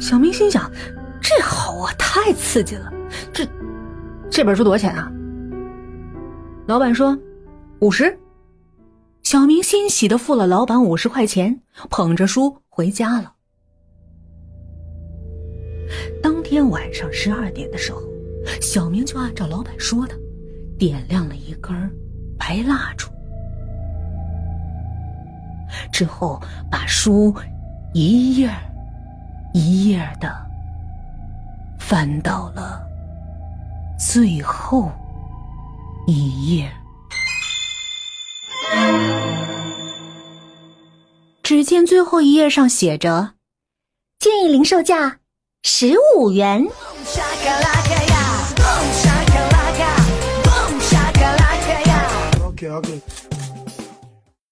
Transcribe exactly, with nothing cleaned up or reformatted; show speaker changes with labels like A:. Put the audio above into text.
A: 小明心想，这好啊，太刺激了。这这本书多少钱啊？老板说五十。小明欣喜地付了老板五十块钱，捧着书回家了。当天晚上十二点的时候，小明就按照老板说的，点亮了一根白蜡烛，之后把书一页一页的翻到了最后一页。只见最后一页上写着，建议零售价十五元。